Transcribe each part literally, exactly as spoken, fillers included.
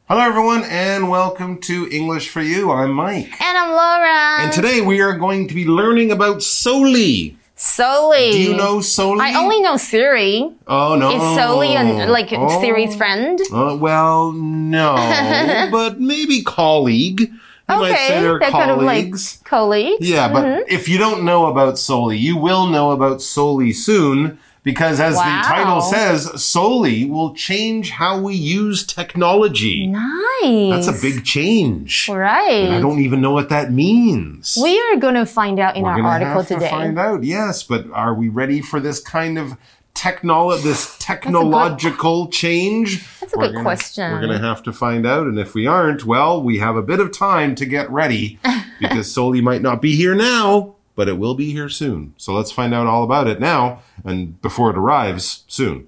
Hello, everyone, and welcome to English for You. I'm Mike. And I'm Laura. And today we are going to be learning about Soli. Soli. Do you know Soli? I only know Siri. Oh, no. Is Soli an, like oh. Siri's friend? Uh, well, no, but maybe colleague. You okay, might say they're, they're colleagues. kind of like colleagues. Yeah, but mm-hmm. if you don't know about Soli, you will know about Soli soon. Because as wow. the title says, Soli will change how we use technology. Nice. That's a big change. Right. And I don't even know what that means. We are going to find out in We're our article have today. To find out, yes. But are we ready for this kind of technolo- this technological good, change? That's a we're good gonna, question. We're going to have to find out. And if we aren't, well, we have a bit of time to get ready because Soli might not be here now. But it will be here soon. So let's find out all about it now and before it arrives soon.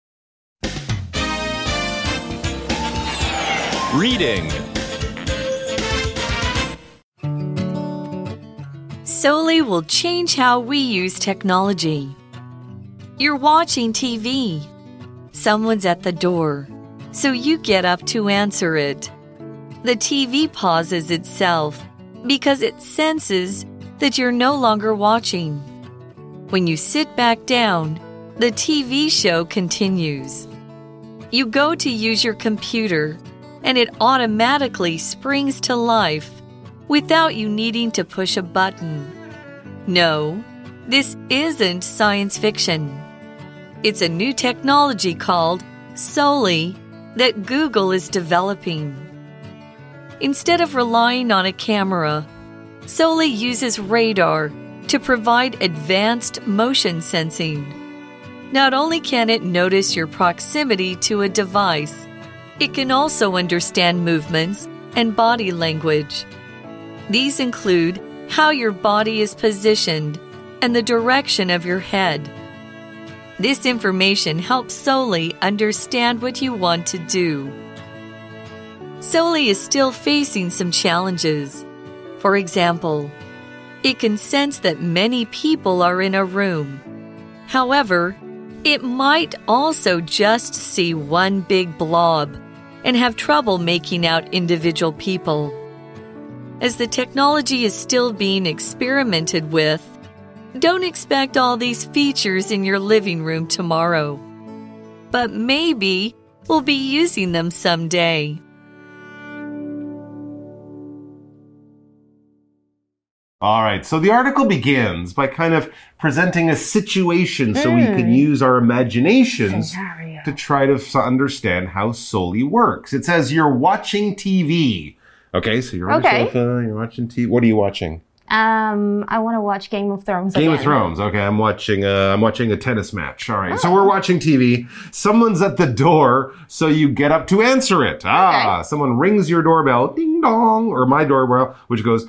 Reading. Soli will change how we use technology. You're watching T V. Someone's at the door, so you get up to answer it. The T V pauses itself because it senses that you're no longer watching. When you sit back down, the T V show continues. You go to use your computer, and it automatically springs to life without you needing to push a button. No, this isn't science fiction. It's a new technology called Soli that Google is developing. Instead of relying on a camera, Soli uses radar to provide advanced motion sensing. Not only can it notice your proximity to a device, it can also understand movements and body language. These include how your body is positioned and the direction of your head. This information helps Soli understand what you want to do. Soli is still facing some challenges. For example, it can sense that many people are in a room. However, it might also just see one big blob and have trouble making out individual people. As the technology is still being experimented with, don't expect all these features in your living room tomorrow. But maybe we'll be using them someday. All right, so the article begins by kind of presenting a situation so mm. we can use our imaginations Scenario. to try to understand how Soli works. It says you're watching T V. Okay, so you're on okay. the sofa, you're watching T V. What are you watching? Um, I want to watch Game of Thrones Game again. of Thrones. Okay, I'm watching uh, I'm watching a tennis match. All right, oh. so we're watching T V. Someone's at the door, so you get up to answer it. Ah, okay. Someone rings your doorbell, ding dong, or my doorbell, which goes...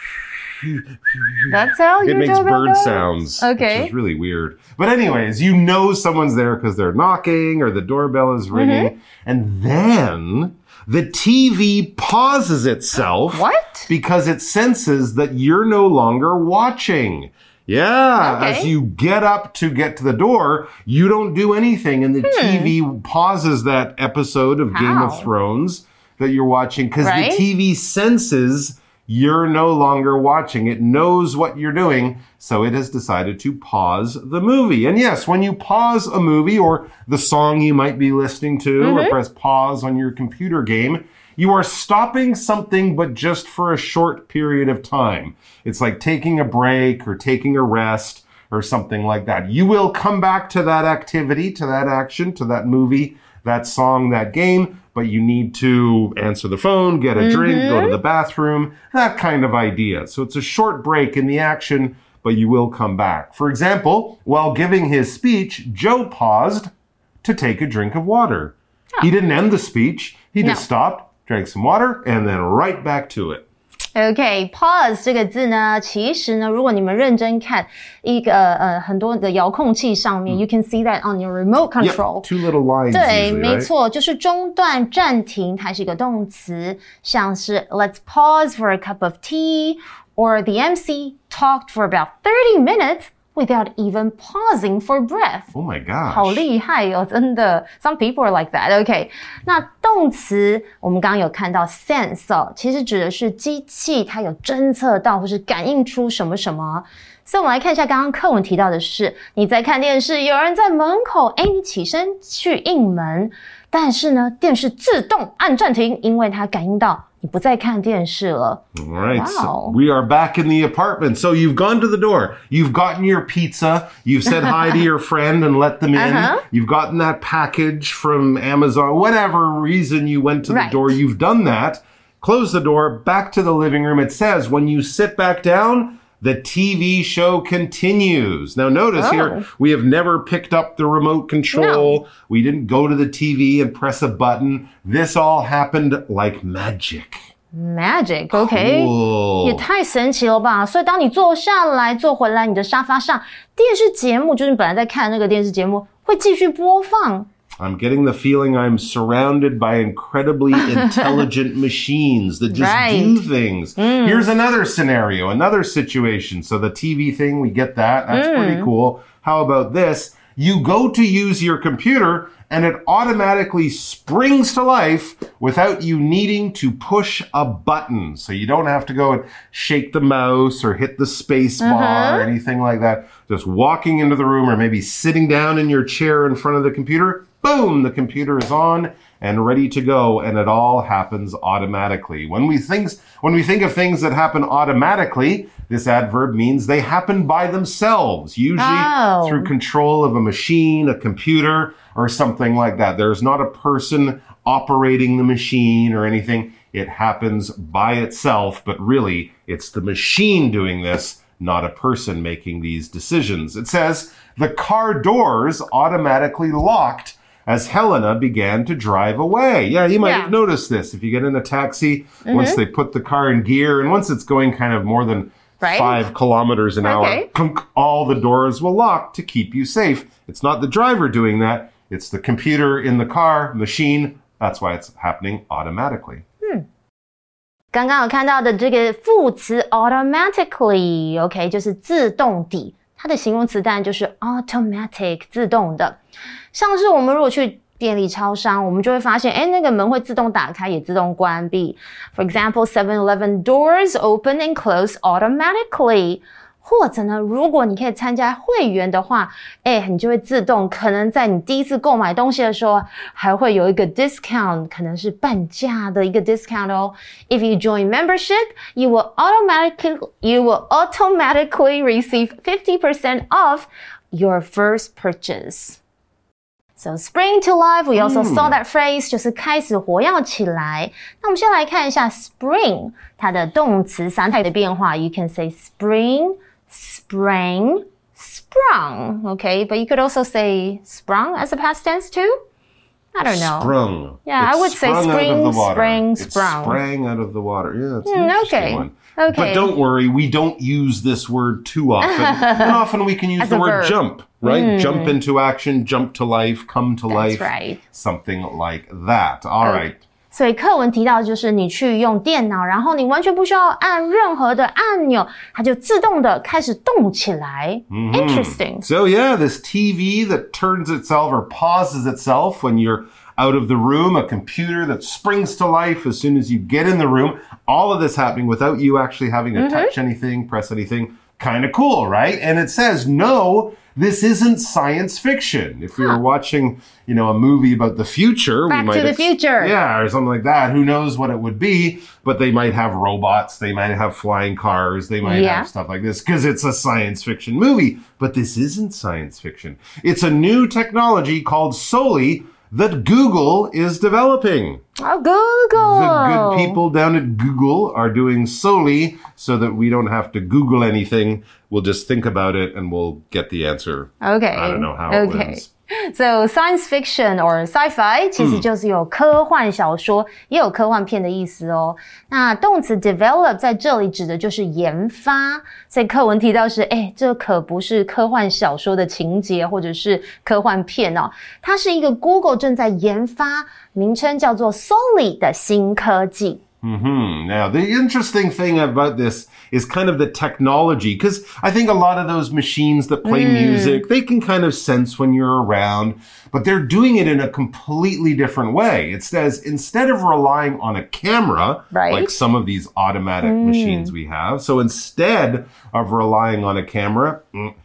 That's how it your makes doorbell bird goes? sounds, okay. which is really weird. But anyways, you know someone's there because they're knocking or the doorbell is ringing. Mm-hmm. And then the T V pauses itself. What? Because it senses that you're no longer watching. Yeah, okay. as you get up to get to the door, you don't do anything. And the hmm. T V pauses that episode of how? Game of Thrones that you're watching because right? the T V senses you're no longer watching. It knows what you're doing, so it has decided to pause the movie. And yes, when you pause a movie or the song you might be listening to mm-hmm. or press pause on your computer game, you are stopping something but just for a short period of time. It's like taking a break or taking a rest or something like that. You will come back to that activity, to that action, to that movie, that song, that game, but you need to answer the phone, get a mm-hmm. drink, go to the bathroom, that kind of idea. So it's a short break in the action, but you will come back. For example, while giving his speech, Joe paused to take a drink of water. Oh. He didn't end the speech. He just no. stopped, drank some water, and then right back to it. OK, pause 這個字呢，其實呢，如果你們認真看一個呃很多的遙控器上面、嗯、，you can see that on your remote control. Yep, two little lines. 對， usually, 沒 right? 錯，就是中斷、暫停，它是一個動詞，像是 Let's pause for a cup of tea, or the M C talked for about thirty minutes without even pausing for breath. Oh my gosh. 好厲害哦，真的。Some people are like that. OK. 那动詞我們剛剛有看到 sense 哦，其實指的是機器它有偵測到或是感應出什麼什麼。所以我們來看一下剛剛課文提到的是，你在看電視，有人在門口，誒，你起身去應門，但是呢，電視自動按暫停，因為它感應到你不再看電視了。 All right, Wow. so we are back in the apartment. So you've gone to the door. You've gotten your pizza. You've said hi to your friend and let them in. Uh-huh. You've gotten that package from Amazon. Whatever reason you went to the Right. door, you've done that. Close the door, back to the living room. It says when you sit back down, the T V show continues. Now notice oh. here, we have never picked up the remote control. No. We didn't go to the T V and press a button. This all happened like magic. Magic, OK. Cool. 也太神奇了吧。所以当你坐下来，坐回來你的沙發上，電視節目就是你本來在看那個電視節目會繼續播放。 I'm getting the feeling I'm surrounded by incredibly intelligent machines that just right. do things. Mm. Here's another scenario, another situation. So the T V thing, we get that. That's mm. pretty cool. How about this? You go to use your computer and it automatically springs to life without you needing to push a button. So you don't have to go and shake the mouse or hit the space bar uh-huh. or anything like that. Just walking into the room or maybe sitting down in your chair in front of the computer. Boom, the computer is on and ready to go, and it all happens automatically. When we think, when we think of things that happen automatically, this adverb means they happen by themselves, usually oh. through control of a machine, a computer, or something like that. There's not a person operating the machine or anything. It happens by itself, but really, it's the machine doing this, not a person making these decisions. It says, the car doors automatically locked as Helena began to drive away. Yeah, you might yeah. have noticed this. If you get in a taxi, mm-hmm. once they put the car in gear, and once it's going kind of more than right? five kilometers an okay. hour, all the doors will lock to keep you safe. It's not the driver doing that. It's the computer in the car, machine. That's why it's happening automatically. 剛剛有看到的這個副詞 automatically, OK, 就是自動地。它的形容詞當然就是 automatic, 自動的。像是我們如果去便利超商，我們就會發現，誒，那個門會自動打開，也自動關閉。For example, seven eleven doors open and close automatically. 或者呢，如果你可以參加會員的話，誒，你就會自動可能在你第一次購買東西的時候，還會有一個 discount， 可能是半價的一個 discount 哦。If you join membership, you will automatically you will automatically receive fifty percent off your first purchase. So spring to life, we also saw that phrase, 就是開始活躍起來。那我們先來看一下 spring， 它的動詞三態的變化。You can say spring.Sprang, sprung, okay? But you could also say sprung as a past tense too? I don't know. Sprung. Yeah, it I would say spring, sprang, sprung. It sprang out of the water. Yeah, it's an mm, interesting okay. one. Okay. But don't worry, we don't use this word too often. And often we can use as the word verb. jump, right? Mm. Jump into action, jump to life, come to That's life. Right. Something like that. All okay. right. 所以課文提到就是你去用電腦，然後你完全不需要按任何的按鈕，它就自動的開始動起來。Mm-hmm. Interesting. So yeah, this T V that turns itself or pauses itself when you're out of the room, a computer that springs to life as soon as you get in the room, all of this happening without you actually having to mm-hmm. touch anything, press anything. Kind of cool, right? And it says, no, this isn't science fiction. If we were huh. watching, you know, a movie about the future, Back we might to the ex- future. Yeah, or something like that. Who knows what it would be? But they might have robots. They might have flying cars. They might yeah. have stuff like this because it's a science fiction movie. But this isn't science fiction. It's a new technology called Soli that Google is developing. Oh, Google! The good people down at Google are doing Soli so that we don't have to Google anything. We'll just think about it and we'll get the answer. Okay. I don't know how okay. it wins. So science fiction or sci-fi 其實就是有科幻小說、嗯、也有科幻片的意思哦。那動詞 develop 在這裡指的就是研發，所以課文提到是，誒，這可不是科幻小說的情節或者是科幻片哦，它是一個 Google 正在研發，名稱叫做 Soli 的新科技。 Mm-hmm. Now, the interesting thing about this is kind of the technology, because I think a lot of those machines that play mm. music, they can kind of sense when you're around, but they're doing it in a completely different way. It says instead of relying on a camera, right. like some of these automatic mm. machines we have, so instead of relying on a camera,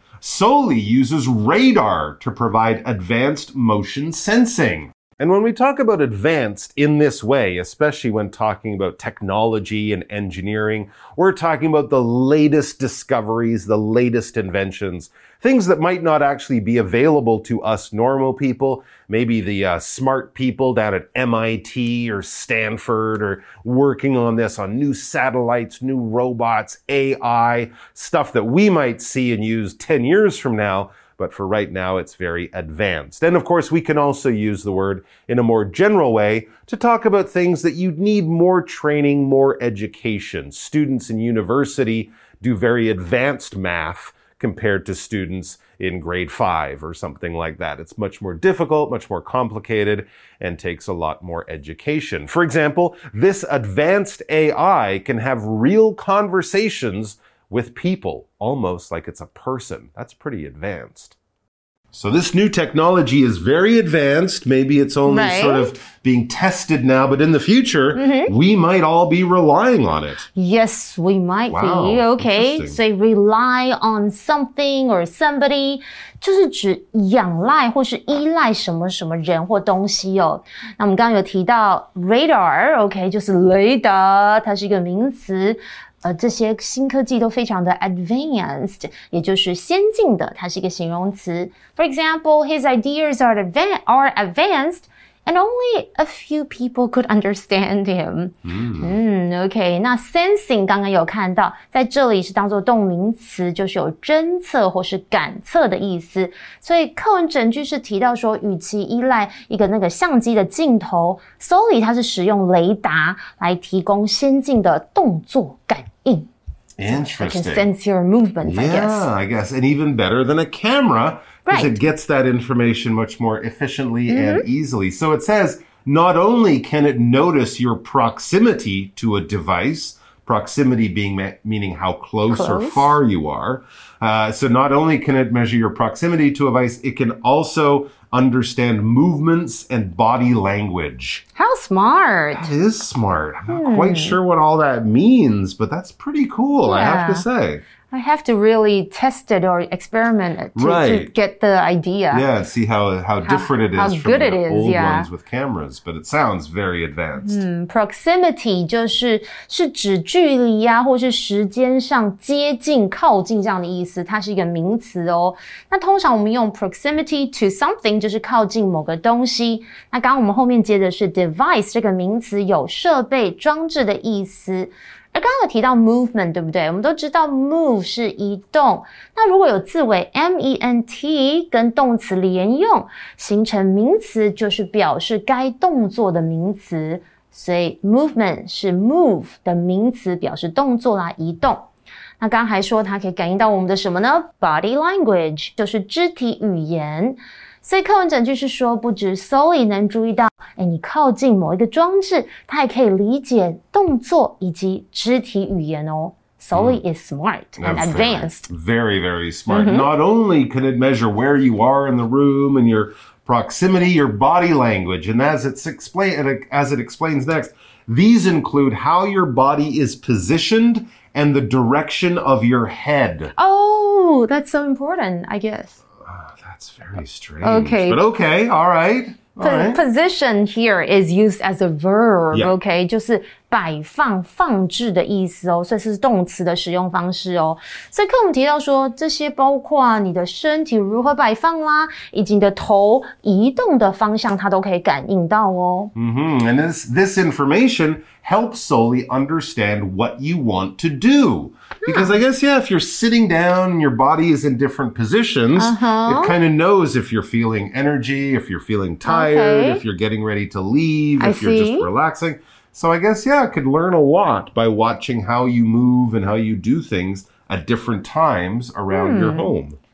Soli uses radar to provide advanced motion sensing. And when we talk about advanced in this way, especially when talking about technology and engineering, we're talking about the latest discoveries, the latest inventions, things that might not actually be available to us normal people, maybe the uh, smart people down at M I T or Stanford or working on this on new satellites, new robots, A I, stuff that we might see and use ten years from now. But for right now, it's very advanced. And of course, we can also use the word in a more general way to talk about things that you need more training, more education. Students in university do very advanced math compared to students in grade five or something like that. It's much more difficult, much more complicated, and takes a lot more education. For example, this advanced A I can have real conversations with people, almost like it's a person. That's pretty advanced. So this new technology is very advanced. Maybe it's only right. sort of being tested now, but in the future, mm-hmm. we might all be relying on it. Yes, we might wow, be. Okay, so rely on something or somebody 就是指仰赖或是依赖什么什么人或东西哦。那我们刚刚有提到 radar， OK， 就是雷达，它是一个名詞。呃，这些新科技都非常的 advanced， 也就是先进的，它是一个形容词。For example, his ideas are, advan- are advanced and only a few people could understand him. 嗯, 嗯 OK， 那 sensing 刚剛有看到，在這裡是當作動名詞，就是有偵測或是感測的意思。所以課文整句是提到說，與其依賴一個那個相機的鏡頭 ，Soli 它是使用雷達來提供先進的動作感應。 Interesting. So it can sense your movements, yeah, I guess. Yeah, I guess. And even better than a camera, because right. it gets that information much more efficiently mm-hmm. and easily. So it says, not only can it notice your proximity to a device, proximity being me- meaning how close, close or far you are. Uh, so not only can it measure your proximity to a device, it can also understand movements and body language. How smart. That is smart. I'm not hmm. quite sure what all that means, but that's pretty cool, yeah. I have to say. I have to really test it or experiment it to, right. to get the idea. Yeah, see how, how different it is how from good the it is, old yeah. ones with cameras, but it sounds very advanced. 嗯 proximity 就是是指距離啊，或是時間上接近、靠近這樣的意思，它是一個名詞哦。那通常我們用 proximity to something 就是靠近某個東西。那剛剛我們後面接的是 device 這個名詞，有設備、裝置的意思。而剛剛有提到 movement， 對不對？我們都知道 move 是移動。那如果有字尾 M E N T 跟動詞連用，形成名詞，就是表示該動作的名詞。所以 movement 是 move 的名詞，表示動作啦，移動。那剛剛還說它可以感應到我們的什麼呢？ Body language 就是肢體語言。所以課文整句是說，不止 Soli 能注意到，誒，你靠近某一個裝置，它也可以理解動作以及肢體語言哦。Soli mm. is smart and That's advanced. Very, very smart. Mm-hmm. Not only can it measure where you are in the room and your proximity, your body language, and as it's explain, as it explains next, these include how your body is positioned and the direction of your head. Oh, that's so important, I guess. That's very strange. Okay. But okay, all right. All right. Position here is used as a verb, yeah. okay? 就是擺放、放置的意思哦，所以是動詞的使用方式哦。所以課文提到說，這些包括你的身體如何擺放啦，以及你的頭移動的方向，它都可以感應到哦。 Mm-hmm. And this, this information helps Soli understand what you want to do. Because I guess, yeah, if you're sitting down and your body is in different positions, uh-huh. it kind of knows if you're feeling energy, if you're feeling tired, okay. if you're getting ready to leave, I if you're see. just relaxing. So I guess, yeah, it could learn a lot by watching how you move and how you do things at different times around hmm. your home.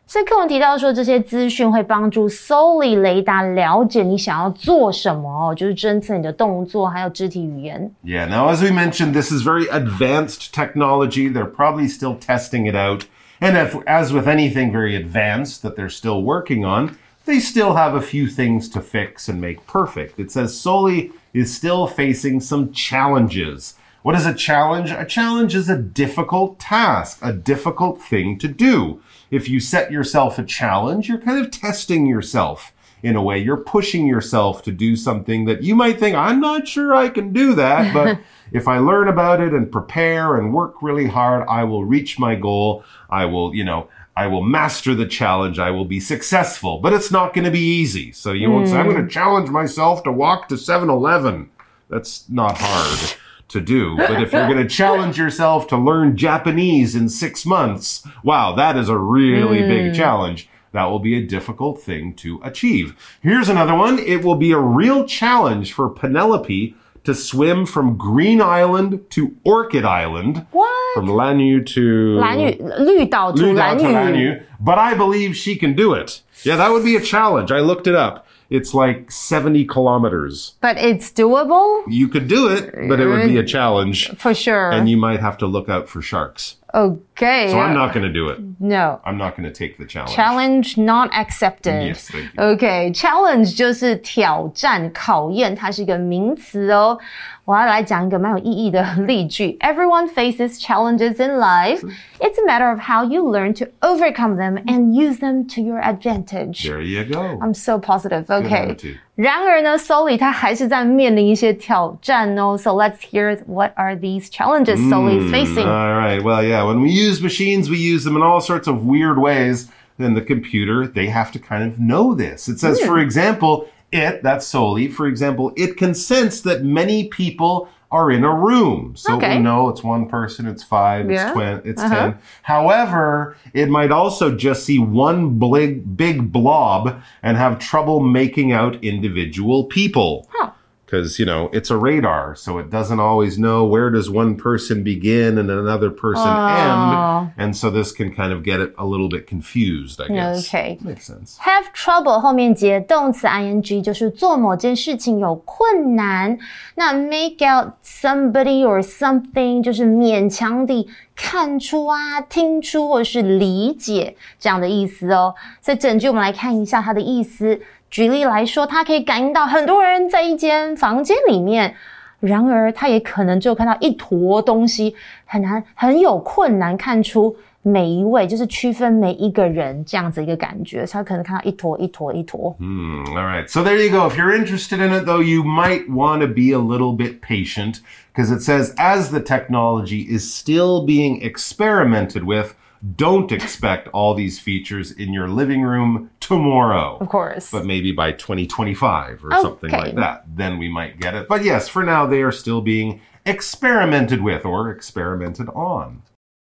所以課文提到說，這些資訊會幫助 Sully 雷達了解你想要做什麼，就是偵測你的動作還有肢體語言。 Yeah, now as we mentioned, this is very advanced technology. They're probably still testing it out. And if, as with anything very advanced that they're still working on, they still have a few things to fix and make perfect. It says Sully is still facing some challenges. What is a challenge? A challenge is a difficult task, a difficult thing to do. If you set yourself a challenge, you're kind of testing yourself in a way. You're pushing yourself to do something that you might think, I'm not sure I can do that, but if I learn about it and prepare and work really hard, I will reach my goal. I will, you know, I will master the challenge. I will be successful, but it's not going to be easy. So you won't mm. say, I'm going to challenge myself to walk to seven eleven. That's not hard to do. But if you're going to challenge yourself to learn Japanese in six months, wow, that is a really mm. big challenge. That will be a difficult thing to achieve. Here's another one. It will be a real challenge for Penelope to swim from Green Island to Orchid Island. What? From Lanyu to... Lanyu, 綠島 to 綠島 to Lanyu. But I believe she can do it. Yeah, that would be a challenge. I looked it up. It's like seventy kilometers. But it's doable? You could do it, but it would be a challenge. For sure. And you might have to look out for sharks. Okay. So I'm not going to do it. No. I'm not going to take the challenge. Challenge not accepted. Yes, thank you. Okay. Challenge 就是挑戰、考驗，它是一個名詞哦。我要來講一個蠻有意義的例句。Everyone faces challenges in life. It's a matter of how you learn to overcome them and use them to your advantage. There you go. I'm so positive. Okay. Good attitude. 然而呢 Sully 他還是在面臨一些挑戰哦。So let's hear what are these challenges Sully is facing. All right. Well, yeah, when we use machines, we use them in all sorts of weird ways. Then the computer, they have to kind of know this. It says, mm. for example, it, that's Sully, for example, it can sense that many people are in a room. So okay. we know it's one person, it's five, yeah. it's twen- it's uh-huh. ten. However, it might also just see one big, big blob and have trouble making out individual people. Huh. Because, you know, it's a radar, so it doesn't always know where does one person begin and another person oh. end. And so this can kind of get it a little bit confused, I guess. Okay. Makes sense. Have trouble 後面接動詞 ing 就是做某件事情有困難。那 make out somebody or something 就是勉強地看出啊、聽出或是理解這樣的意思哦。所以整句我們來看一下它的意思。舉例來說，他可以感應到很多人在一間房間裡面，然而他也可能只有看到一坨東西，很難很有困難看出每一位，就是區分每一個人這樣子一個感覺，所以他可能看到一坨一坨一坨。 Hmm, all right. So there you go. If you're interested in it, though, you might want to be a little bit patient because it says as the technology is still being experimented with, don't expect all these features in your living room tomorrow. Of course. But maybe by twenty twenty-five or okay. something like that. Then we might get it. But yes, for now, they are still being experimented with or experimented on.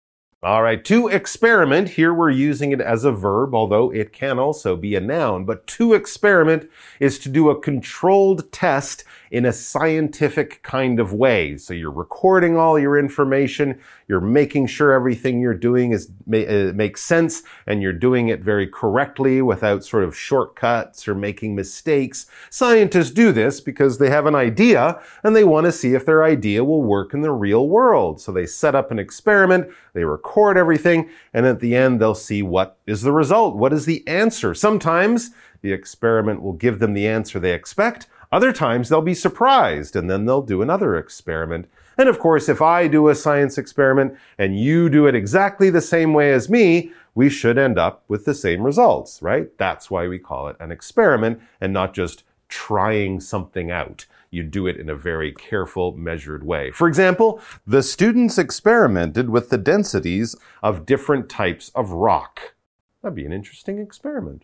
All right, to experiment, here we're using it as a verb, although it can also be a noun. But to experiment is to do a controlled test in a scientific kind of way. So you're recording all your information, you're making sure everything you're doing is uh, makes sense, and you're doing it very correctly without sort of shortcuts or making mistakes. Scientists do this because they have an idea, and they want to see if their idea will work in the real world. So they set up an experiment, they record everything, and at the end they'll see what is the result, what is the answer. Sometimes the experiment will give them the answer they expect. Other times they'll be surprised and then they'll do another experiment. And of course, if I do a science experiment and you do it exactly the same way as me, we should end up with the same results, right? That's why we call it an experiment and not just trying something out. You do it in a very careful, measured way. For example, the students experimented with the densities of different types of rock. That'd be an interesting experiment.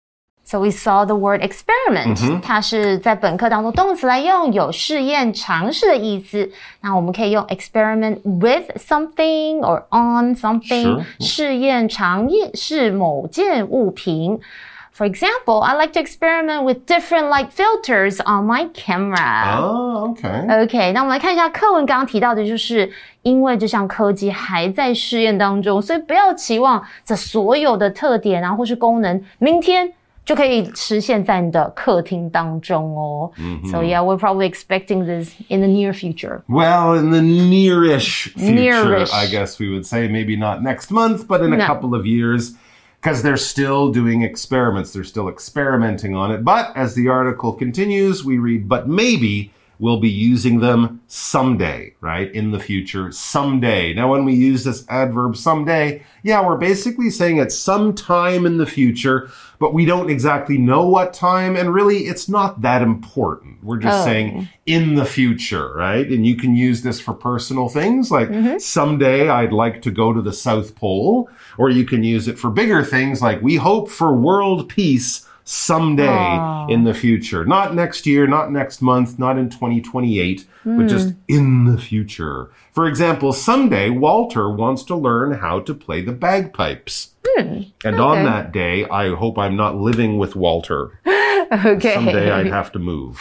So we saw the word experiment. Mm-hmm. 它是在本課當中動詞來用，有試驗、嘗試的意思。那我們可以用 experiment with something or on something. Sure. 試驗、嘗試某件物品。 For example, I like to experiment with different light filters on my camera. Oh, okay. OK, 那我们来看一下課文剛剛提到的就是因為這項科技還在試驗當中，所以不要期望這所有的特點啊或是功能明天就可以實現在你的客廳當中哦。Mm-hmm. So yeah, we're probably expecting this in the near future. Well, in the nearish future, nearish. I guess we would say. Maybe not next month, but in a no. couple of years. Because they're still doing experiments. They're still experimenting on it. But as the article continues, we read, but maybe we'll be using them someday, right? In the future, someday. Now, when we use this adverb someday, yeah, we're basically saying at some time in the future, but we don't exactly know what time. And really, it's not that important. We're just oh. saying in the future, right? And you can use this for personal things like mm-hmm. someday I'd like to go to the South Pole. Or you can use it for bigger things like we hope for world peace someday Aww. In the future. Not next year, not next month, not in twenty twenty-eight, mm. but just in the future. For example, someday Walter wants to learn how to play the bagpipes. Mm. And okay. on that day, I hope I'm not living with Walter. Okay. Someday I'd have to move.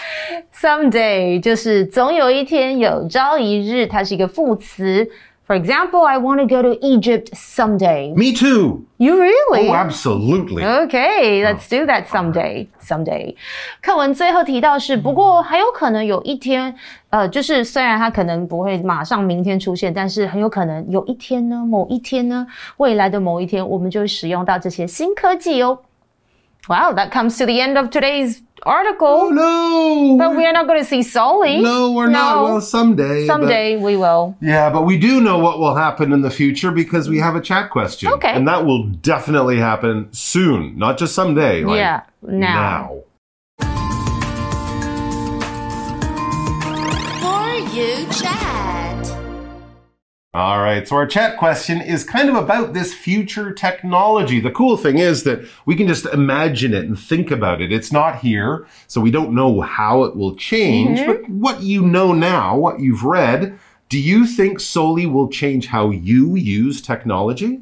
Someday 就是总有一天，有朝一日，它是一个副詞。For example, I want to go to Egypt someday. Me too. You really? Oh, absolutely. Okay, let's do that someday. Someday. 課文最後提到是，不過還有可能有一天，呃，就是雖然它可能不會馬上明天出現，但是很有可能有一天呢，某一天呢，未來的某一天，我們就會使用到這些新科技哦。Wow, that comes to the end of today's article. Oh, no. But we are not going to see Sully. No, we're no. not. Well, someday. Someday but, we will. Yeah, but we do know what will happen in the future because we have a chat question. Okay. And that will definitely happen soon, not just someday. Like yeah, now. now. For You Chat. All right, so our chat question is kind of about this future technology. The cool thing is that we can just imagine it and think about it. It's not here, so we don't know how it will change. Mm-hmm. But what you know now, what you've read, do you think Soli will change how you use technology?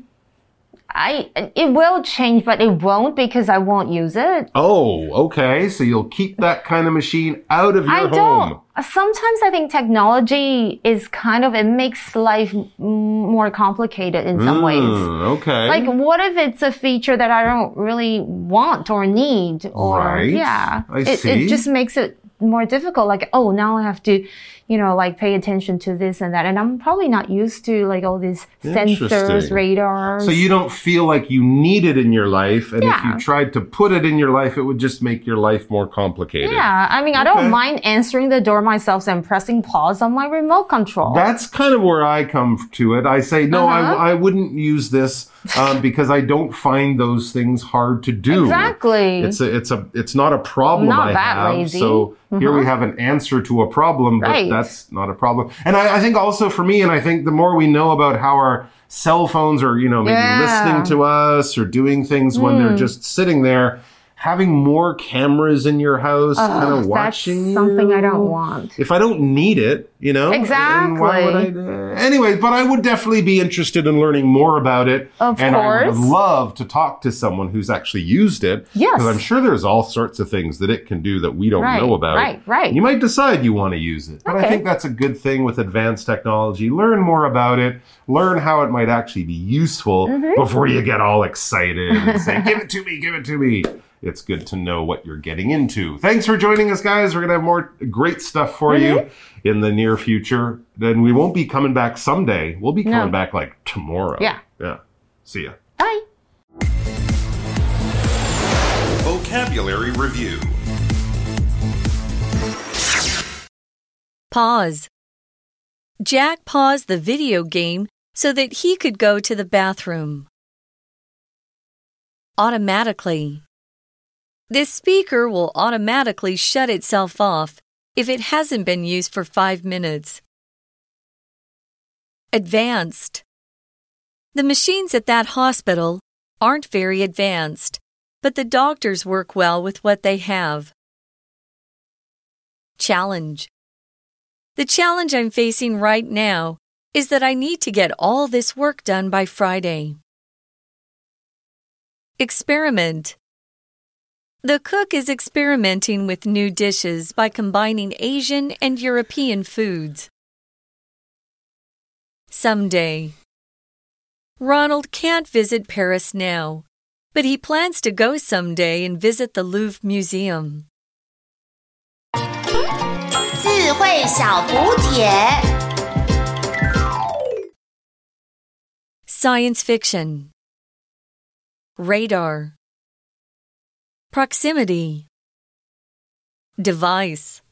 I it will change, but it won't because I won't use it. Oh, okay. So you'll keep that kind of machine out of your I home. Don't. Sometimes I think technology is kind of, it makes life more complicated in some mm, ways. Okay. Like, what if it's a feature that I don't really want or need? Or, right. Yeah. I it, see. It just makes it more difficult. Like, oh, now I have to, you know, like pay attention to this and that. And I'm probably not used to like all these sensors, radars. So you don't feel like you need it in your life. And yeah. if you tried to put it in your life, it would just make your life more complicated. Yeah. I mean, I okay. don't mind answering the door myself and pressing pause on my remote control. That's kind of where I come to it. I say, no, uh-huh. I, I wouldn't use this um, because I don't find those things hard to do. Exactly. It's a, it's a, it's not a problem not I that have. lazy. So uh-huh. here we have an answer to a problem, but right. that's not a problem. And I, I think also for me, and I think the more we know about how our cell phones are, you know, maybe yeah. listening to us or doing things mm. when they're just sitting there, having more cameras in your house, uh, kind of watching that's something you. I don't want. If I don't need it, you know? Exactly. Why would I, uh, anyway, but I would definitely be interested in learning more about it. Of and course. I would love to talk to someone who's actually used it. Yes. Because I'm sure there's all sorts of things that it can do that we don't right, know about. Right, right. You might decide you want to use it. But okay. I think that's a good thing with advanced technology. Learn more about it. Learn how it might actually be useful mm-hmm. before you get all excited and say, give it to me, give it to me. It's good to know what you're getting into. Thanks for joining us, guys. We're going to have more great stuff for mm-hmm. you in the near future. Then we won't be coming back someday. We'll be coming no. back like tomorrow. Yeah. Yeah. See ya. Bye. Vocabulary Review. Pause. Jack paused the video game so that he could go to the bathroom. Automatically. This speaker will automatically shut itself off if it hasn't been used for five minutes. Advanced. The machines at that hospital aren't very advanced, but the doctors work well with what they have. Challenge. The challenge I'm facing right now is that I need to get all this work done by Friday. Experiment. The cook is experimenting with new dishes by combining Asian and European foods. Someday. Ronald can't visit Paris now, but he plans to go someday and visit the Louvre Museum. 智慧小補帖 Science fiction. Radar. Proximity. Device.